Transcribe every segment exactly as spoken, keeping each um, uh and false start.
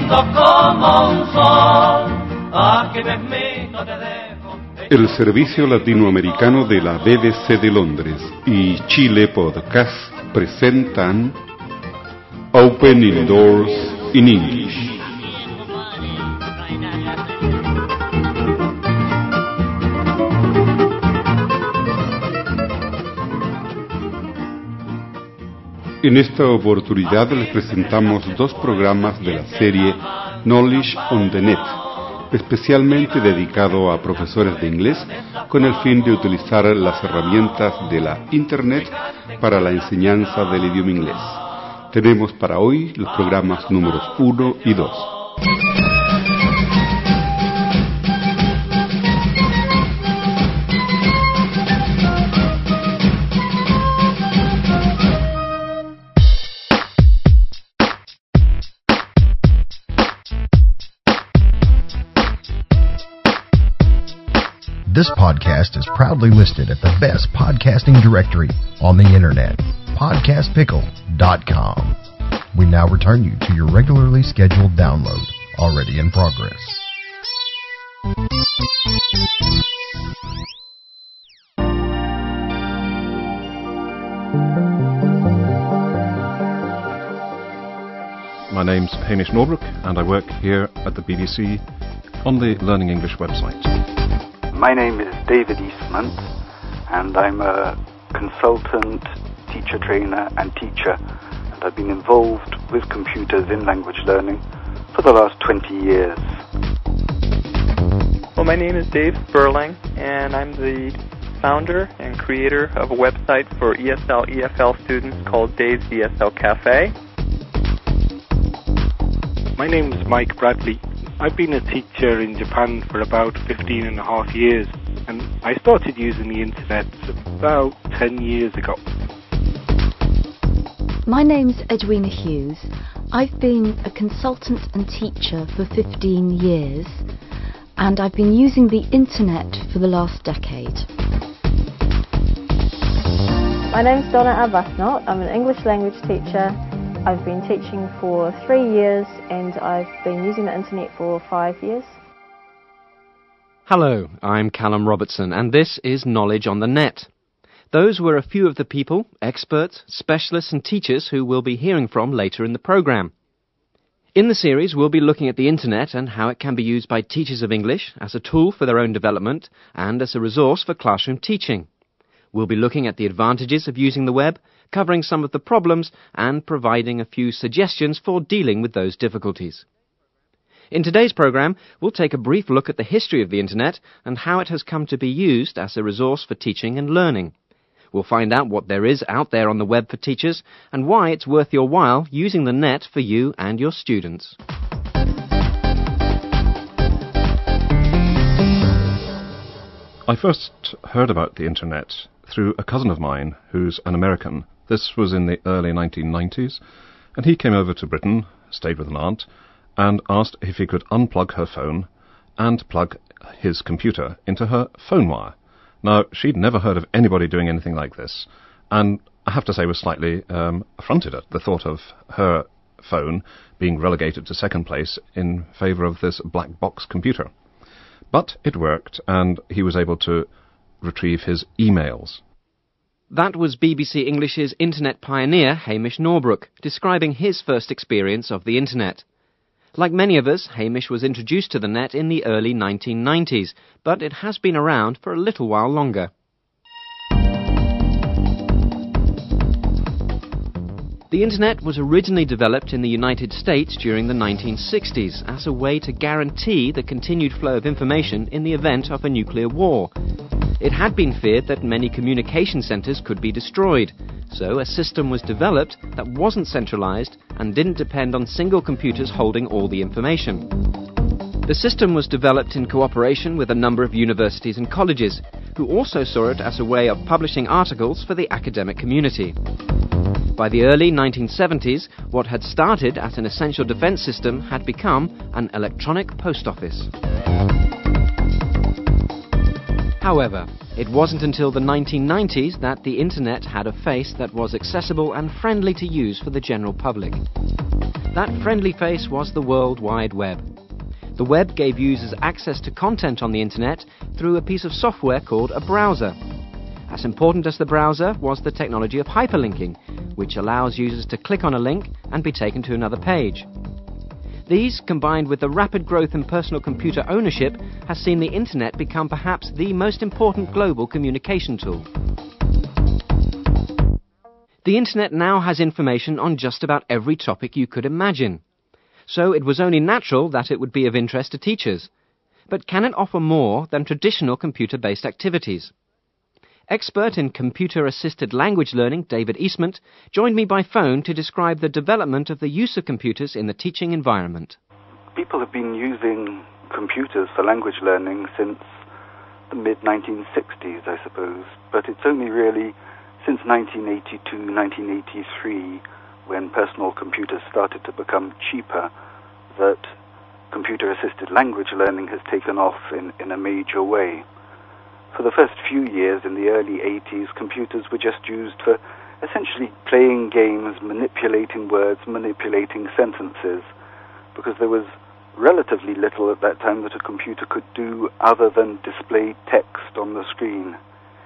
lindo como un sol. Aquí ves mí, no te dejo. El Servicio Latinoamericano de la B B C de Londres y Chile Podcast presentan Opening Doors in English. En esta oportunidad les presentamos dos programas de la serie Knowledge on the Net, especialmente dedicado a profesores de inglés con el fin de utilizar las herramientas de la Internet para la enseñanza del idioma inglés. Tenemos para hoy los programas números uno y dos. This podcast is proudly listed at the best podcasting directory on the internet, podcast pickle dot com. We now return you to your regularly scheduled download, already in progress. My name's Hamish Norbrook, and I work here at the B B C on the Learning English website. My name is David Eastman, and I'm a consultant, teacher trainer and teacher, and I've been involved with computers in language learning for the last twenty years. Well, my name is Dave Sperling, and I'm the founder and creator of a website for E S L E F L students called Dave's E S L Cafe. My name is Mike Bradley. I've been a teacher in Japan for about fifteen and a half years, and I started using the internet about ten years ago. My name's Edwina Hughes. I've been a consultant and teacher for fifteen years, and I've been using the internet for the last decade. My name's Donna Arbuthnot. I'm an English language teacher. I've been teaching for three years and I've been using the internet for five years. Hello, I'm Callum Robertson and this is Knowledge on the Net. Those were a few of the people, experts, specialists and teachers who we'll be hearing from later in the programme. In the series we'll be looking at the internet and how it can be used by teachers of English as a tool for their own development and as a resource for classroom teaching. We'll be looking at the advantages of using the web, covering some of the problems and providing a few suggestions for dealing with those difficulties. In today's programme, we'll take a brief look at the history of the internet and how it has come to be used as a resource for teaching and learning. We'll find out what there is out there on the web for teachers and why it's worth your while using the net for you and your students. I first heard about the internet through a cousin of mine who's an American. This was in the early nineteen nineties, and he came over to Britain, stayed with an aunt, and asked if he could unplug her phone and plug his computer into her phone wire. Now, she'd never heard of anybody doing anything like this, and I have to say was slightly um, affronted at the thought of her phone being relegated to second place in favour of this black box computer. But it worked, and he was able to retrieve his emails. That was B B C English's internet pioneer Hamish Norbrook describing his first experience of the internet. Like many of us, Hamish was introduced to the net in the early nineteen nineties, but it has been around for a little while longer. The internet was originally developed in the United States during the nineteen sixties as a way to guarantee the continued flow of information in the event of a nuclear war. It had been feared that many communication centres could be destroyed, so a system was developed that wasn't centralised and didn't depend on single computers holding all the information. The system was developed in cooperation with a number of universities and colleges, who also saw it as a way of publishing articles for the academic community. By the early nineteen seventies, what had started as an essential defence system had become an electronic post office. However, it wasn't until the nineteen nineties that the internet had a face that was accessible and friendly to use for the general public. That friendly face was the World Wide Web. The web gave users access to content on the internet through a piece of software called a browser. As important as the browser was the technology of hyperlinking, which allows users to click on a link and be taken to another page. These, combined with the rapid growth in personal computer ownership, has seen the internet become perhaps the most important global communication tool. The internet now has information on just about every topic you could imagine. So it was only natural that it would be of interest to teachers. But can it offer more than traditional computer-based activities? Expert in computer-assisted language learning, David Eastman, joined me by phone to describe the development of the use of computers in the teaching environment. People have been using computers for language learning since the mid nineteen sixties, I suppose, but it's only really since nineteen eighty-two, nineteen eighty-three, when personal computers started to become cheaper, that computer-assisted language learning has taken off in, in a major way. For the first few years in the early eighties, computers were just used for essentially playing games, manipulating words, manipulating sentences, because there was relatively little at that time that a computer could do other than display text on the screen.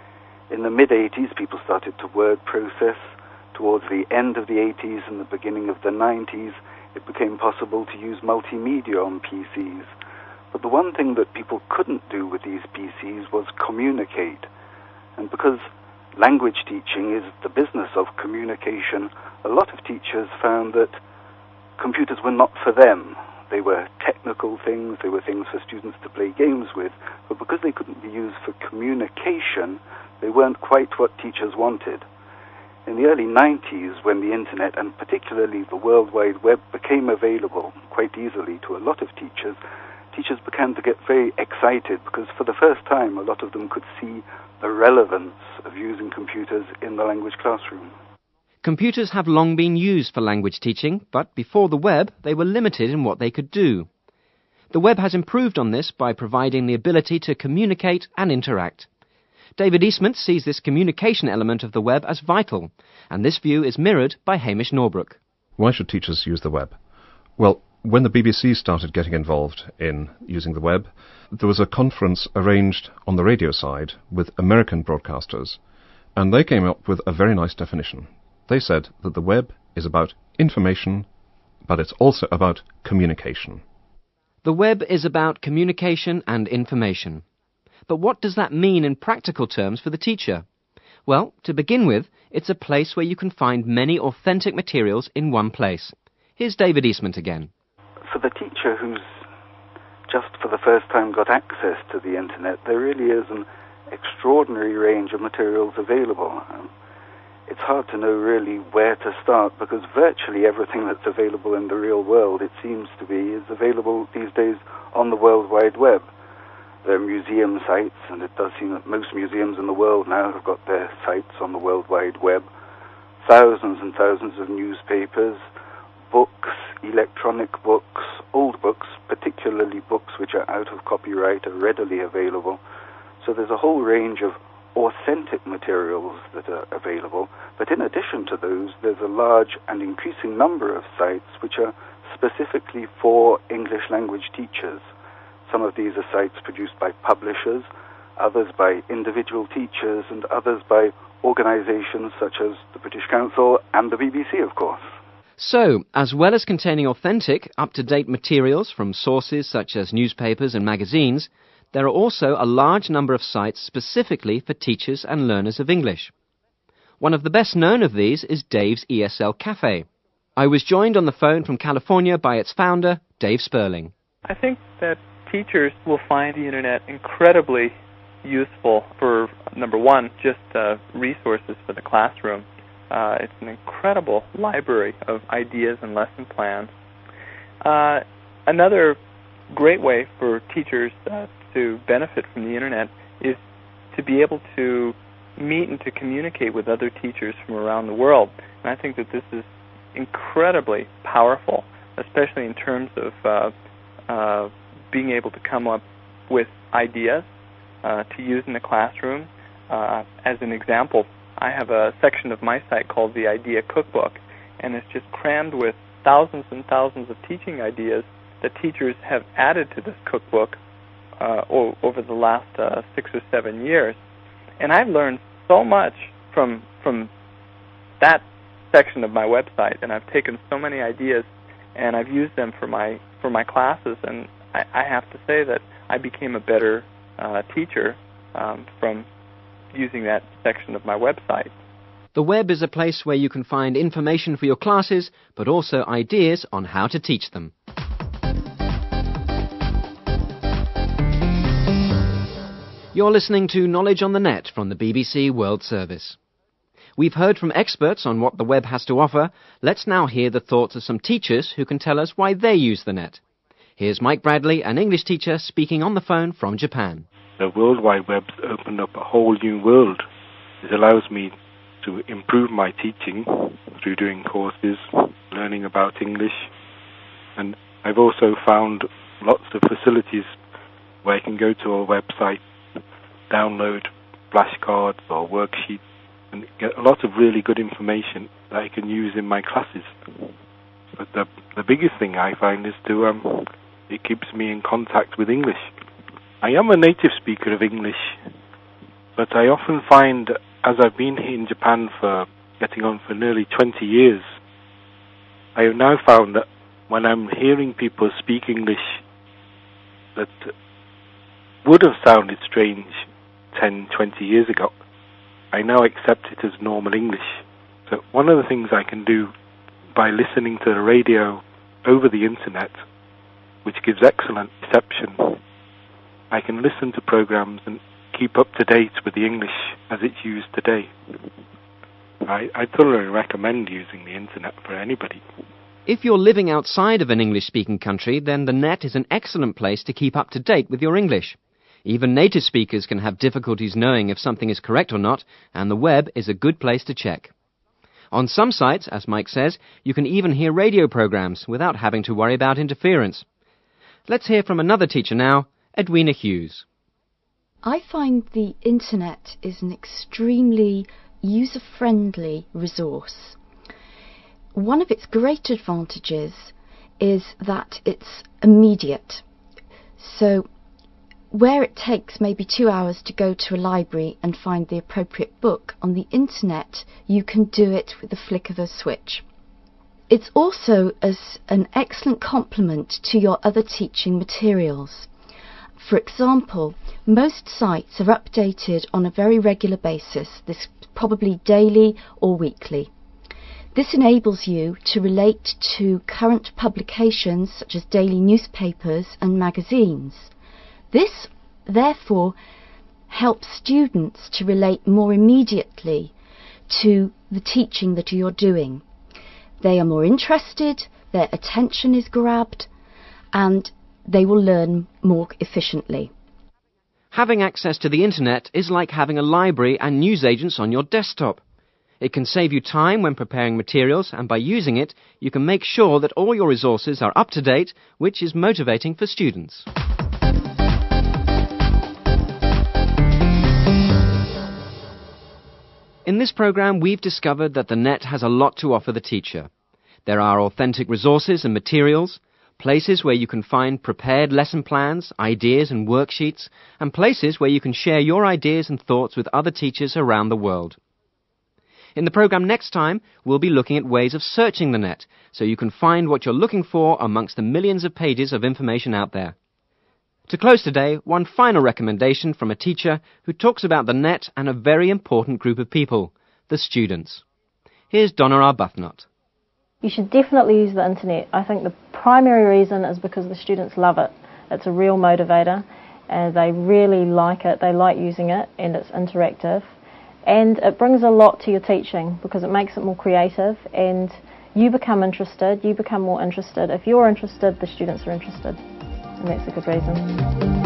In the mid-eighties, people started to word process. Towards the end of the eighties and the beginning of the nineties, it became possible to use multimedia on P Cs. But the one thing that people couldn't do with these P Cs was communicate. And because language teaching is the business of communication, a lot of teachers found that computers were not for them. They were technical things, they were things for students to play games with, but because they couldn't be used for communication, they weren't quite what teachers wanted. In the early nineties, when the internet and particularly the World Wide Web became available quite easily to a lot of teachers, teachers began to get very excited because for the first time a lot of them could see the relevance of using computers in the language classroom. Computers have long been used for language teaching, but before the web they were limited in what they could do. The web has improved on this by providing the ability to communicate and interact. David Eastman sees this communication element of the web as vital, and this view is mirrored by Hamish Norbrook. Why should teachers use the web? Well, when the B B C started getting involved in using the web, there was a conference arranged on the radio side with American broadcasters, and they came up with a very nice definition. They said that the web is about information, but it's also about communication. The web is about communication and information. But what does that mean in practical terms for the teacher? Well, to begin with, it's a place where you can find many authentic materials in one place. Here's David Eastman again. For the teacher who's just for the first time got access to the internet, there really is an extraordinary range of materials available. Um, it's hard to know really where to start because virtually everything that's available in the real world, it seems to be, is available these days on the World Wide Web. There are museum sites, and it does seem that most museums in the world now have got their sites on the World Wide Web. Thousands and thousands of newspapers, books, electronic books, old books, particularly books which are out of copyright, are readily available. So there's a whole range of authentic materials that are available. But in addition to those, there's a large and increasing number of sites which are specifically for English language teachers. Some of these are sites produced by publishers, others by individual teachers, and others by organizations such as the British Council and the B B C, of course. So, as well as containing authentic, up-to-date materials from sources such as newspapers and magazines, there are also a large number of sites specifically for teachers and learners of English. One of the best known of these is Dave's E S L Cafe. I was joined on the phone from California by its founder, Dave Sperling. I think that teachers will find the internet incredibly useful for, number one, just uh, resources for the classroom. Uh, it's an incredible library of ideas and lesson plans. Uh, another great way for teachers uh, to benefit from the internet is to be able to meet and to communicate with other teachers from around the world. And I think that this is incredibly powerful, especially in terms of uh, uh, being able to come up with ideas uh, to use in the classroom. Uh, as an example, I have a section of my site called the Idea Cookbook, and it's just crammed with thousands and thousands of teaching ideas that teachers have added to this cookbook uh, o- over the last uh, six or seven years. And I've learned so much from from that section of my website, and I've taken so many ideas and I've used them for my for my classes, and I, I have to say that I became a better uh, teacher um, from using that section of my website. The web is a place where you can find information for your classes, but also ideas on how to teach them. You're listening to Knowledge on the Net from the B B C World Service. We've heard from experts on what the web has to offer. Let's now hear the thoughts of some teachers who can tell us why they use the net. Here's Mike Bradley, an English teacher, speaking on the phone from Japan. The World Wide Web's opened up a whole new world. It allows me to improve my teaching through doing courses, learning about English, and I've also found lots of facilities where I can go to a website, download flashcards or worksheets, and get a lot of really good information that I can use in my classes. But the the biggest thing I find is to um, it keeps me in contact with English. I am a native speaker of English, but I often find, as I've been here in Japan for getting on for nearly twenty years, I have now found that when I'm hearing people speak English that would have sounded strange ten, twenty years ago, I now accept it as normal English. So one of the things I can do by listening to the radio over the internet, which gives excellent reception, I can listen to programs and keep up to date with the English as it's used today. I, I thoroughly recommend using the internet for anybody. If you're living outside of an English-speaking country, then the net is an excellent place to keep up to date with your English. Even native speakers can have difficulties knowing if something is correct or not, and the web is a good place to check. On some sites, as Mike says, you can even hear radio programs without having to worry about interference. Let's hear from another teacher now, Edwina Hughes. I find the internet is an extremely user-friendly resource. One of its great advantages is that it's immediate. So where it takes maybe two hours to go to a library and find the appropriate book, on the internet you can do it with the flick of a switch. It's also as an excellent complement to your other teaching materials. For example, most sites are updated on a very regular basis, this probably daily or weekly. This enables you to relate to current publications such as daily newspapers and magazines. This, therefore, helps students to relate more immediately to the teaching that you're doing. They are more interested, their attention is grabbed, and they will learn more efficiently. Having access to the internet is like having a library and newsagents on your desktop. It can save you time when preparing materials, and by using it, you can make sure that all your resources are up to date, which is motivating for students. In this program, we've discovered that the net has a lot to offer the teacher. There are authentic resources and materials, places where you can find prepared lesson plans, ideas and worksheets, and places where you can share your ideas and thoughts with other teachers around the world. In the program next time, we'll be looking at ways of searching the net, so you can find what you're looking for amongst the millions of pages of information out there. To close today, one final recommendation from a teacher who talks about the net and a very important group of people, the students. Here's Donna Arbuthnot. You should definitely use the internet. I think the primary reason is because the students love it. It's a real motivator, and they really like it. They like using it, and it's interactive. And it brings a lot to your teaching because it makes it more creative, and you become interested, you become more interested. If you're interested, the students are interested. And that's a good reason.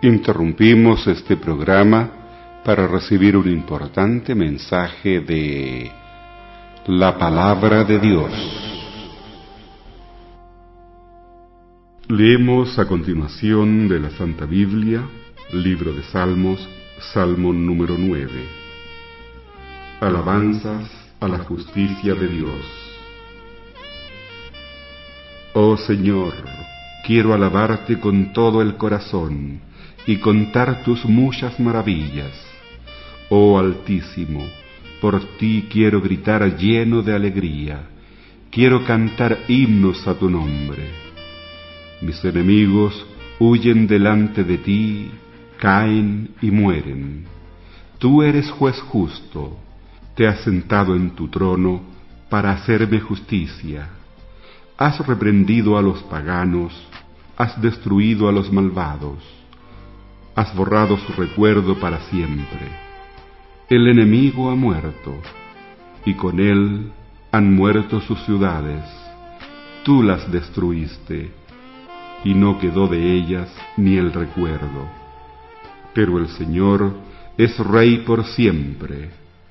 Interrumpimos este programa para recibir un importante mensaje de la Palabra de Dios. Leemos a continuación de la Santa Biblia, libro de Salmos, Salmo número nueve. Alabanzas a la justicia de Dios. Oh Señor, quiero alabarte con todo el corazón y contar tus muchas maravillas. Oh Altísimo, por ti quiero gritar lleno de alegría, quiero cantar himnos a tu nombre. Mis enemigos huyen delante de ti, caen y mueren. Tú eres juez justo, te has sentado en tu trono para hacerme justicia. Has reprendido a los paganos, has destruido a los malvados, has borrado su recuerdo para siempre. El enemigo ha muerto, y con él han muerto sus ciudades. Tú las destruiste, y no quedó de ellas ni el recuerdo. Pero el Señor es Rey por siempre.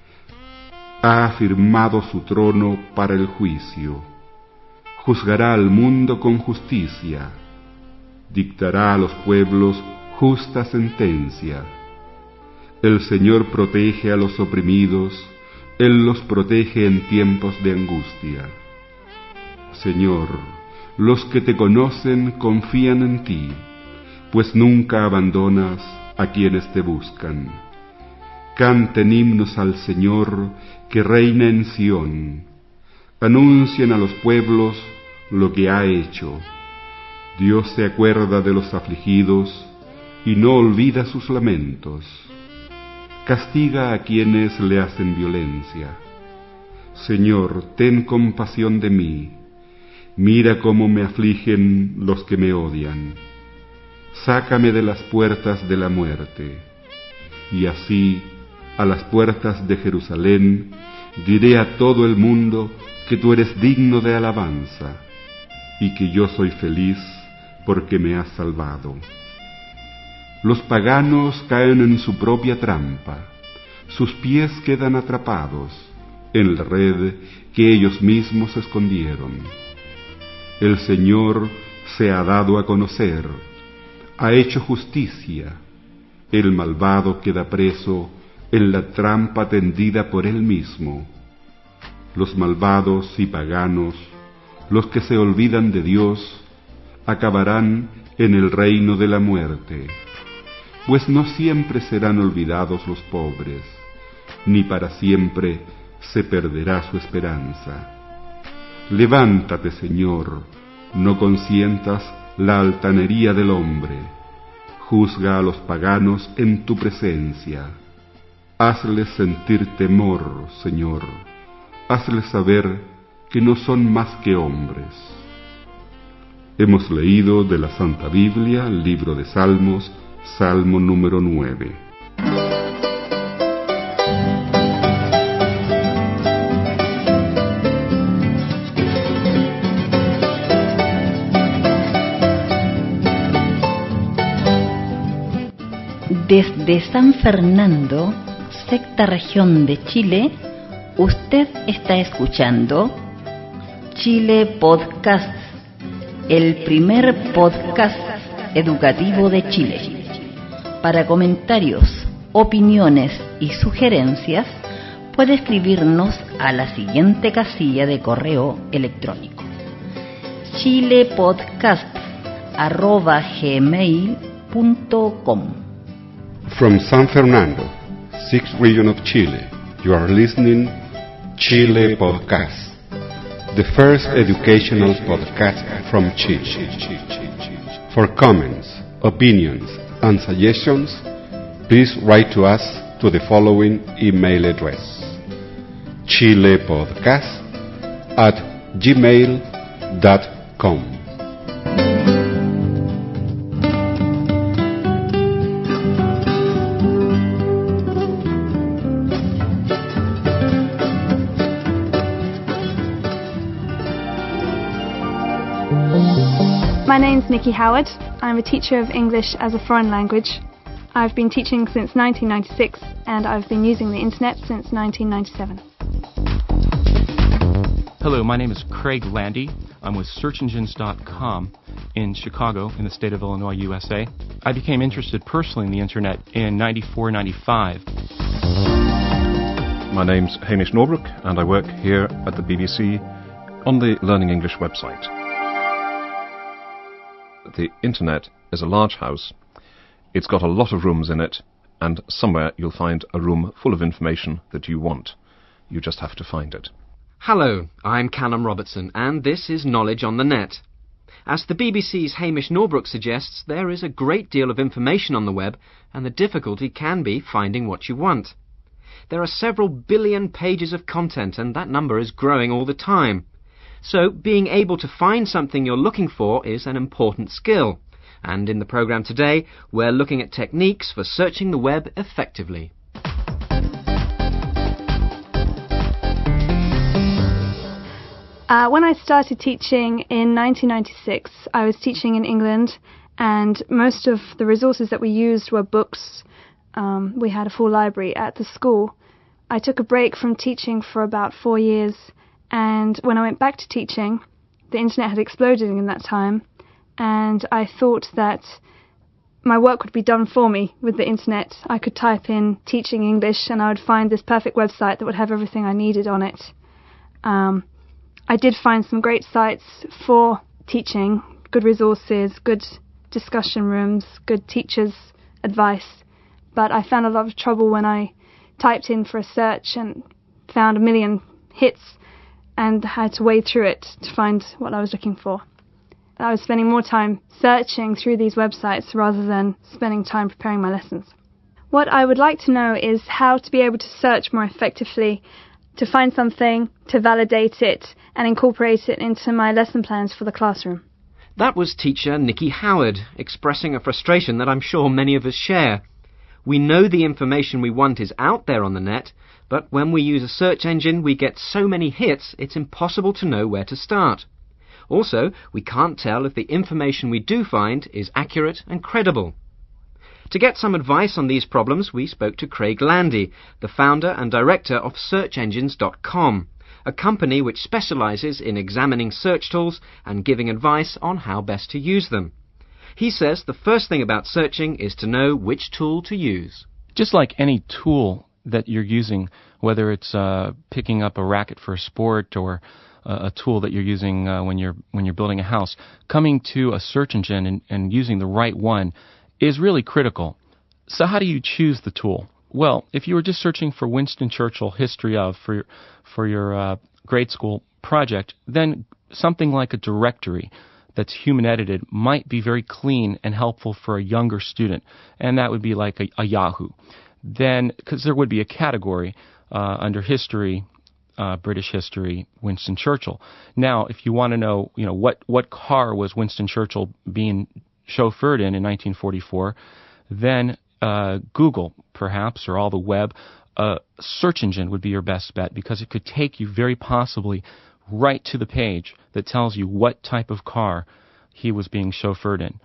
Ha afirmado su trono para el juicio. Juzgará al mundo con justicia. Dictará a los pueblos justa sentencia. El Señor protege a los oprimidos, Él los protege en tiempos de angustia. Señor, los que te conocen confían en ti, pues nunca abandonas a quienes te buscan. Canten himnos al Señor que reina en Sión. Anuncien a los pueblos lo que ha hecho. Dios se acuerda de los afligidos y no olvida sus lamentos. Castiga a quienes le hacen violencia. Señor, ten compasión de mí. Mira cómo me afligen los que me odian. Sácame de las puertas de la muerte. Y así, a las puertas de Jerusalén, diré a todo el mundo que tú eres digno de alabanza, y que yo soy feliz porque me has salvado. Los paganos caen en su propia trampa, sus pies quedan atrapados en la red que ellos mismos escondieron. El Señor se ha dado a conocer, ha hecho justicia, el malvado queda preso en la trampa tendida por él mismo. Los malvados y paganos, los que se olvidan de Dios, acabarán en el reino de la muerte, pues no siempre serán olvidados los pobres, ni para siempre se perderá su esperanza. Levántate, Señor, no consientas la altanería del hombre, juzga a los paganos en tu presencia. Hazles sentir temor, Señor, hazles saber que no son más que hombres. Hemos leído de la Santa Biblia, libro de Salmos, Salmo número nueve. Desde San Fernando, sexta región de Chile, usted está escuchando Chile Podcast, el primer podcast educativo de Chile. Para comentarios, opiniones y sugerencias, puede escribirnos a la siguiente casilla de correo electrónico: chilepodcast arroba gmail punto com. From San Fernando, sixth region of Chile, you are listening Chile Podcast, the first educational podcast from Chile. For comments, opinions, and suggestions, please write to us to the following email address: chilepodcast at gmail dot com. My name's Nikki Howard. I'm a teacher of English as a foreign language. I've been teaching since nineteen ninety-six and I've been using the internet since nineteen ninety-seven. Hello, my name is Craig Landy. I'm with search engines dot com in Chicago in the state of Illinois, U S A. I became interested personally in the internet in ninety-four ninety-five. My name's Hamish Norbrook and I work here at the B B C on the Learning English website. The internet is a large house. It's got a lot of rooms in it, and somewhere you'll find a room full of information that you want. You just have to find it. Hello, I'm Callum Robertson, and this is Knowledge on the Net. As the B B C's Hamish Norbrook suggests, there is a great deal of information on the web, and the difficulty can be finding what you want. There are several billion pages of content, and that number is growing all the time. So, being able to find something you're looking for is an important skill. And in the programme today, we're looking at techniques for searching the web effectively. Uh, when I started teaching in nineteen ninety-six, I was teaching in England, and most of the resources that we used were books. Um, we had a full library at the school. I took a break from teaching for about four years, and when I went back to teaching, the internet had exploded in that time, and I thought that my work would be done for me with the internet. I could type in teaching English, and I would find this perfect website that would have everything I needed on it. Um, I did find some great sites for teaching, good resources, good discussion rooms, good teachers' advice, but I found a lot of trouble when I typed in for a search and found a million hits and had to wade through it to find what I was looking for. I was spending more time searching through these websites rather than spending time preparing my lessons. What I would like to know is how to be able to search more effectively, to find something, to validate it, and incorporate it into my lesson plans for the classroom. That was teacher Nikki Howard, expressing a frustration that I'm sure many of us share. We know the information we want is out there on the net, but when we use a search engine, we get so many hits, it's impossible to know where to start. Also, we can't tell if the information we do find is accurate and credible. To get some advice on these problems, we spoke to Craig Landy, the founder and director of search engines dot com, a company which specialises in examining search tools and giving advice on how best to use them. He says the first thing about searching is to know which tool to use. Just like any tool that you're using, whether it's uh, picking up a racket for a sport or uh, a tool that you're using uh, when you're when you're building a house, coming to a search engine and, and using the right one is really critical. So how do you choose the tool? Well, if you were just searching for Winston Churchill history of for your, for your uh, grade school project, then something like a directory that's human edited might be very clean and helpful for a younger student, and that would be like a, a Yahoo. Then, because there would be a category uh, under history, uh, British history, Winston Churchill. Now, if you want to know, you know, what what car was Winston Churchill being chauffeured in in nineteen forty-four, then uh, Google, perhaps, or all the web, uh, search engine would be your best bet, because it could take you very possibly right to the page that tells you what type of car he was being chauffeured in.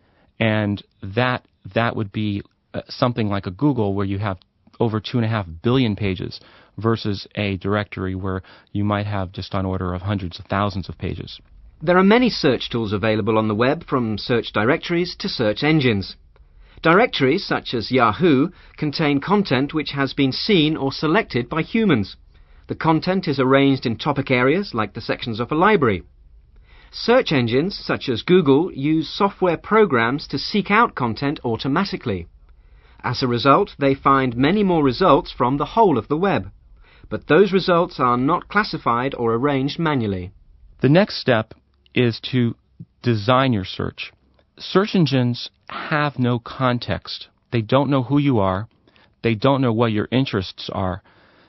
And that that would be uh, something like a Google where you have over two and a half billion pages versus a directory where you might have just on order of hundreds of thousands of pages. There are many search tools available on the web, from search directories to search engines. Directories, such as Yahoo, contain content which has been seen or selected by humans. The content is arranged in topic areas like the sections of a library. Search engines, such as Google, use software programs to seek out content automatically. As a result, they find many more results from the whole of the web. But those results are not classified or arranged manually. The next step is to design your search. Search engines have no context. They don't know who you are. They don't know what your interests are.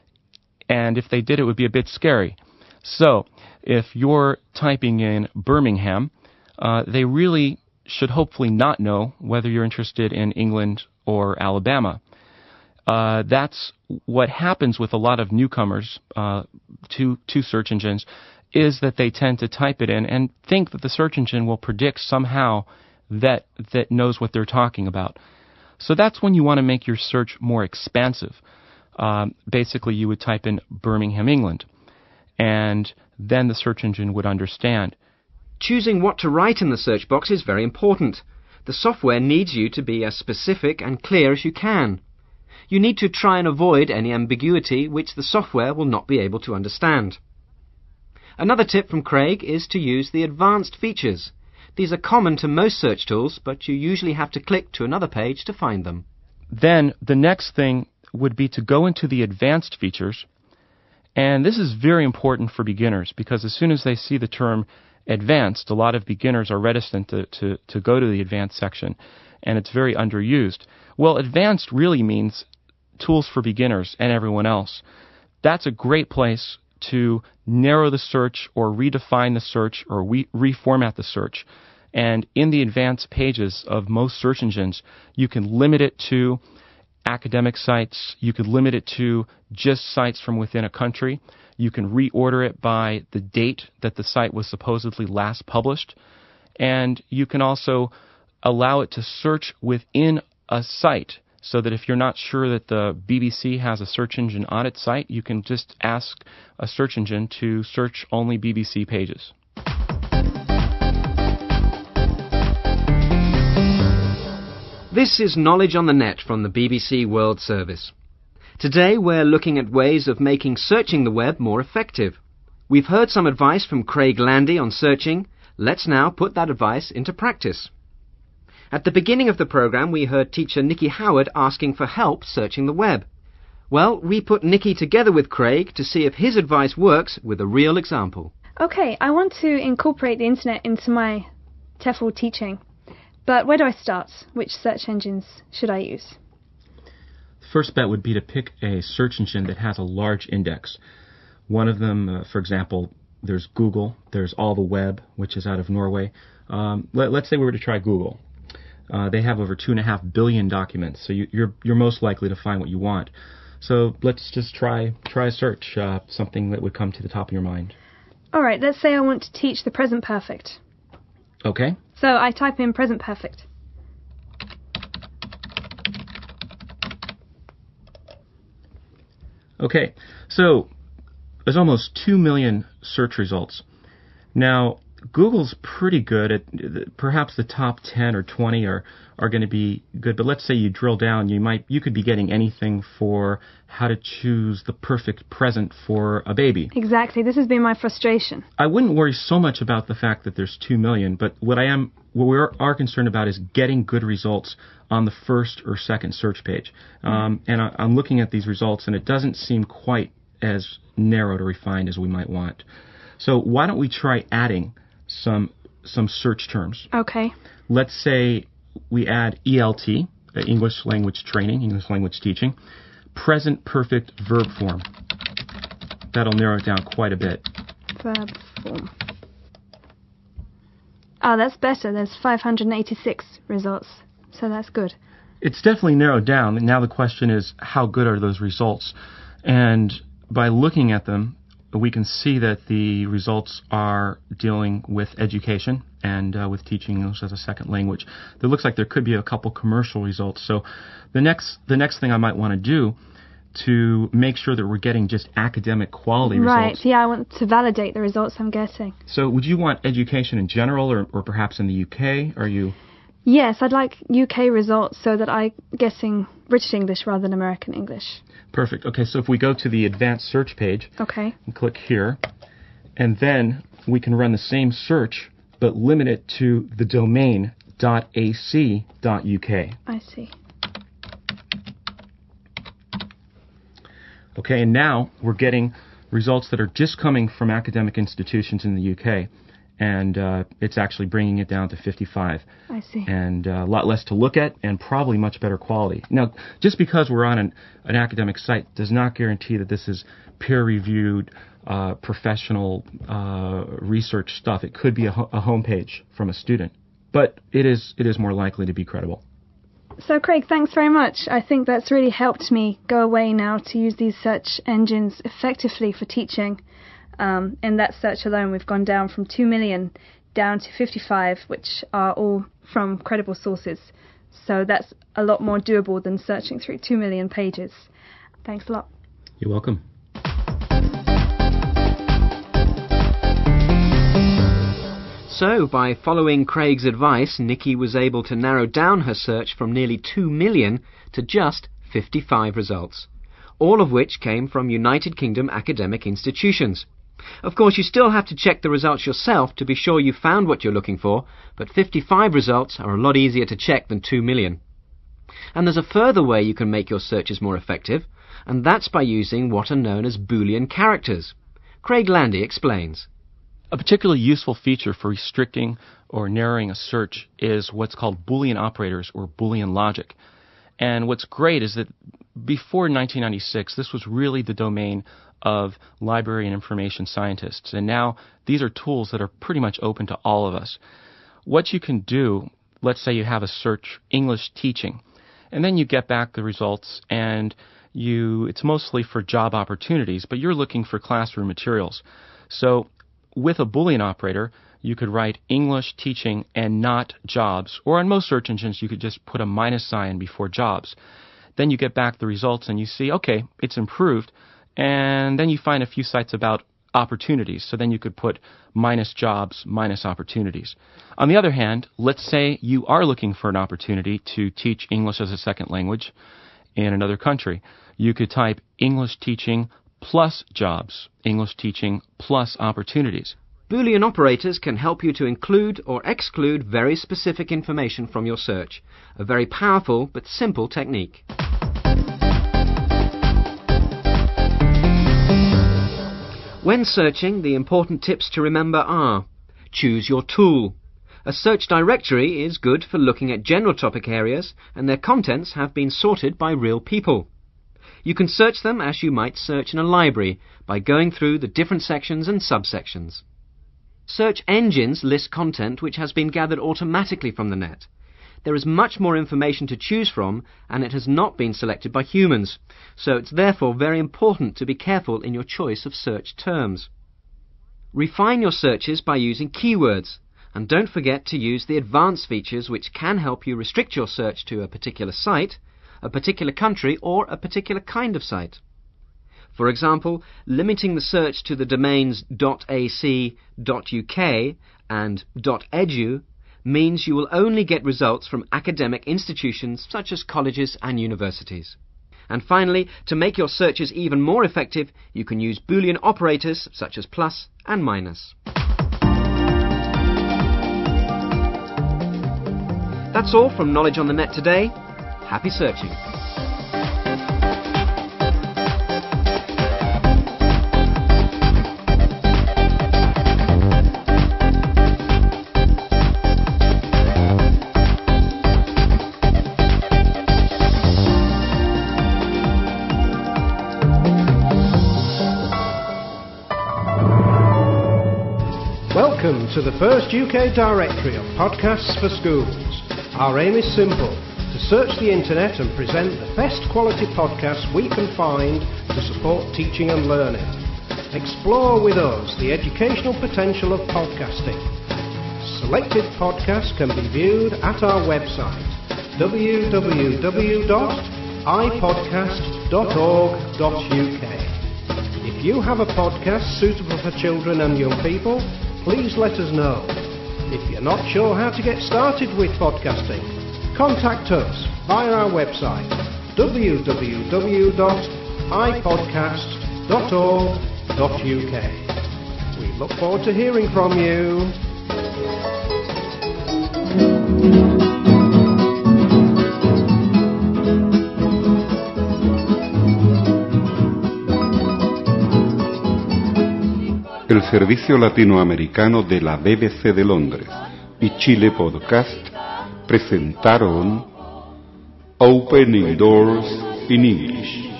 And if they did, it would be a bit scary. So, if you're typing in Birmingham, uh, they really should hopefully not know whether you're interested in England or Alabama. Uh, that's what happens with a lot of newcomers uh, to, to search engines, is that they tend to type it in and think that the search engine will predict somehow that that knows what they're talking about. So that's when you want to make your search more expansive. Um, basically, you would type in Birmingham, England, and then the search engine would understand. Choosing what to write in the search box is very important. The software needs you to be as specific and clear as you can. You need to try and avoid any ambiguity which the software will not be able to understand. Another tip from Craig is to use the advanced features. These are common to most search tools, but you usually have to click to another page to find them. Then the next thing would be to go into the advanced features, and this is very important for beginners because as soon as they see the term advanced, a lot of beginners are reticent to, to, to go to the advanced section, and it's very underused. Well, advanced really means tools for beginners and everyone else. That's a great place to narrow the search or redefine the search or re- reformat the search. And in the advanced pages of most search engines, you can limit it to academic sites. You could limit it to just sites from within a country. You can reorder it by the date that the site was supposedly last published. And you can also allow it to search within a site so that if you're not sure that the B B C has a search engine on its site, you can just ask a search engine to search only B B C pages. This is Knowledge on the Net from the B B C World Service. Today we're looking at ways of making searching the web more effective. We've heard some advice from Craig Landy on searching. Let's now put that advice into practice. At the beginning of the program, we heard teacher Nikki Howard asking for help searching the web. Well, we put Nikki together with Craig to see if his advice works with a real example. Okay, I want to incorporate the internet into my TEFL teaching. But where do I start? Which search engines should I use? The first bet would be to pick a search engine that has a large index. One of them, uh, for example, there's Google. There's All the Web, which is out of Norway. Um, let, let's say we were to try Google. Uh, they have over two and a half billion documents, so you, you're you're most likely to find what you want. So let's just try try a search, uh, something that would come to the top of your mind. All right, let's say I want to teach the present perfect. Okay. So I type in present perfect. Okay, so there's almost two million search results. Now, Google's pretty good at, perhaps the top ten or twenty are, are going to be good, but let's say you drill down, you might you could be getting anything for how to choose the perfect present for a baby. Exactly, this has been my frustration. I wouldn't worry so much about the fact that there's two million, but what I am what we are, are concerned about is getting good results on the first or second search page. Um, and I, I'm looking at these results, and it doesn't seem quite as narrowed or refined as we might want. So why don't we try adding some some search terms? Okay. Let's say we add E L T, uh, English language training, English language teaching, present perfect verb form. That'll narrow it down quite a bit. Verb form. Oh, that's better. There's five hundred eighty-six results, so that's good. It's definitely narrowed down. And now the question is, how good are those results? And by looking at them, we can see that the results are dealing with education and uh, with teaching English as a second language. There looks like there could be a couple commercial results. So the next the next thing I might want to do to make sure that we're getting just academic quality right, results. Right, yeah, I want to validate the results I'm getting. So would you want education in general or, or perhaps in the U K? Are you... Yes, I'd like U K results so that I'm getting British English rather than American English. Perfect. Okay, so if we go to the advanced search page, okay, and click here, and then we can run the same search, but limit it to the domain .ac.uk. I see. Okay, and now we're getting results that are just coming from academic institutions in the U K. And uh, it's actually bringing it down to fifty-five. I see. And uh, a lot less to look at and probably much better quality. Now, just because we're on an, an academic site does not guarantee that this is peer-reviewed, uh, professional uh, research stuff. It could be a, ho- a homepage from a student. But it is it is more likely to be credible. So, Craig, thanks very much. I think that's really helped me go away now to use these search engines effectively for teaching. Um, in that search alone, we've gone down from two million down to fifty-five, which are all from credible sources. So that's a lot more doable than searching through two million pages. Thanks a lot. You're welcome. So, by following Craig's advice, Nikki was able to narrow down her search from nearly two million to just fifty-five results, all of which came from United Kingdom academic institutions. Of course, you still have to check the results yourself to be sure you found what you're looking for, but fifty-five results are a lot easier to check than two million. And there's a further way you can make your searches more effective, and that's by using what are known as Boolean characters. Craig Landy explains. A particularly useful feature for restricting or narrowing a search is what's called Boolean operators or Boolean logic. And what's great is that before nineteen ninety-six, this was really the domain of library and information scientists. And now these are tools that are pretty much open to all of us. What you can do, let's say you have a search English teaching, and then you get back the results and you it's mostly for job opportunities, but you're looking for classroom materials. So with a Boolean operator, you could write English teaching and not jobs, or on most search engines you could just put a minus sign before jobs. Then you get back the results and you see, okay, it's improved, and then you find a few sites about opportunities, so then you could put minus jobs, minus opportunities. On the other hand, let's say you are looking for an opportunity to teach English as a second language in another country. You could type English teaching plus jobs, English teaching plus opportunities. Boolean operators can help you to include or exclude very specific information from your search, a very powerful but simple technique. When searching, the important tips to remember are: choose your tool. A search directory is good for looking at general topic areas, and their contents have been sorted by real people. You can search them as you might search in a library, by going through the different sections and subsections. Search engines list content which has been gathered automatically from the net. There is much more information to choose from, and it has not been selected by humans, so it's therefore very important to be careful in your choice of search terms. Refine your searches by using keywords, and don't forget to use the advanced features which can help you restrict your search to a particular site, a particular country, or a particular kind of site. For example, limiting the search to the domains .ac, .uk and .edu means you will only get results from academic institutions such as colleges and universities. And finally, to make your searches even more effective, you can use Boolean operators such as plus and minus. That's all from Knowledge on the Net today. Happy searching. Welcome to the first U K directory of podcasts for schools. Our aim is simple: to search the internet and present the best quality podcasts we can find to support teaching and learning. Explore with us the educational potential of podcasting. Selected podcasts can be viewed at our website w w w dot i podcast dot org dot u k. If you have a podcast suitable for children and young people, please let us know. If you're not sure how to get started with podcasting, contact us via our website w w w dot i podcast dot org dot u k. We look forward to hearing from you. El Servicio Latinoamericano de la B B C de Londres y Chile Podcast presentaron Opening Doors in English.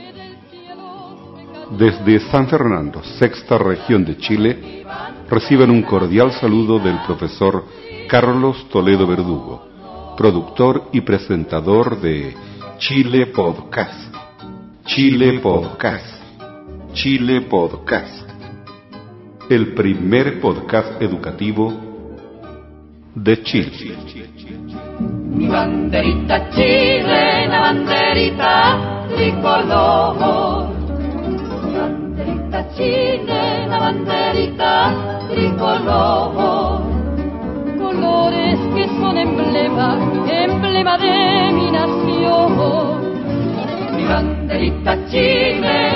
Desde San Fernando, sexta región de Chile, reciban un cordial saludo del profesor Carlos Toledo Verdugo, productor y presentador de Chile Podcast. Chile Podcast. Chile Podcast. el primer podcast educativo de Chile. Mi banderita chilena, banderita tricolor. Mi banderita chilena, banderita tricolor. Colores que son emblema, emblema de mi nación. Mi banderita chilena.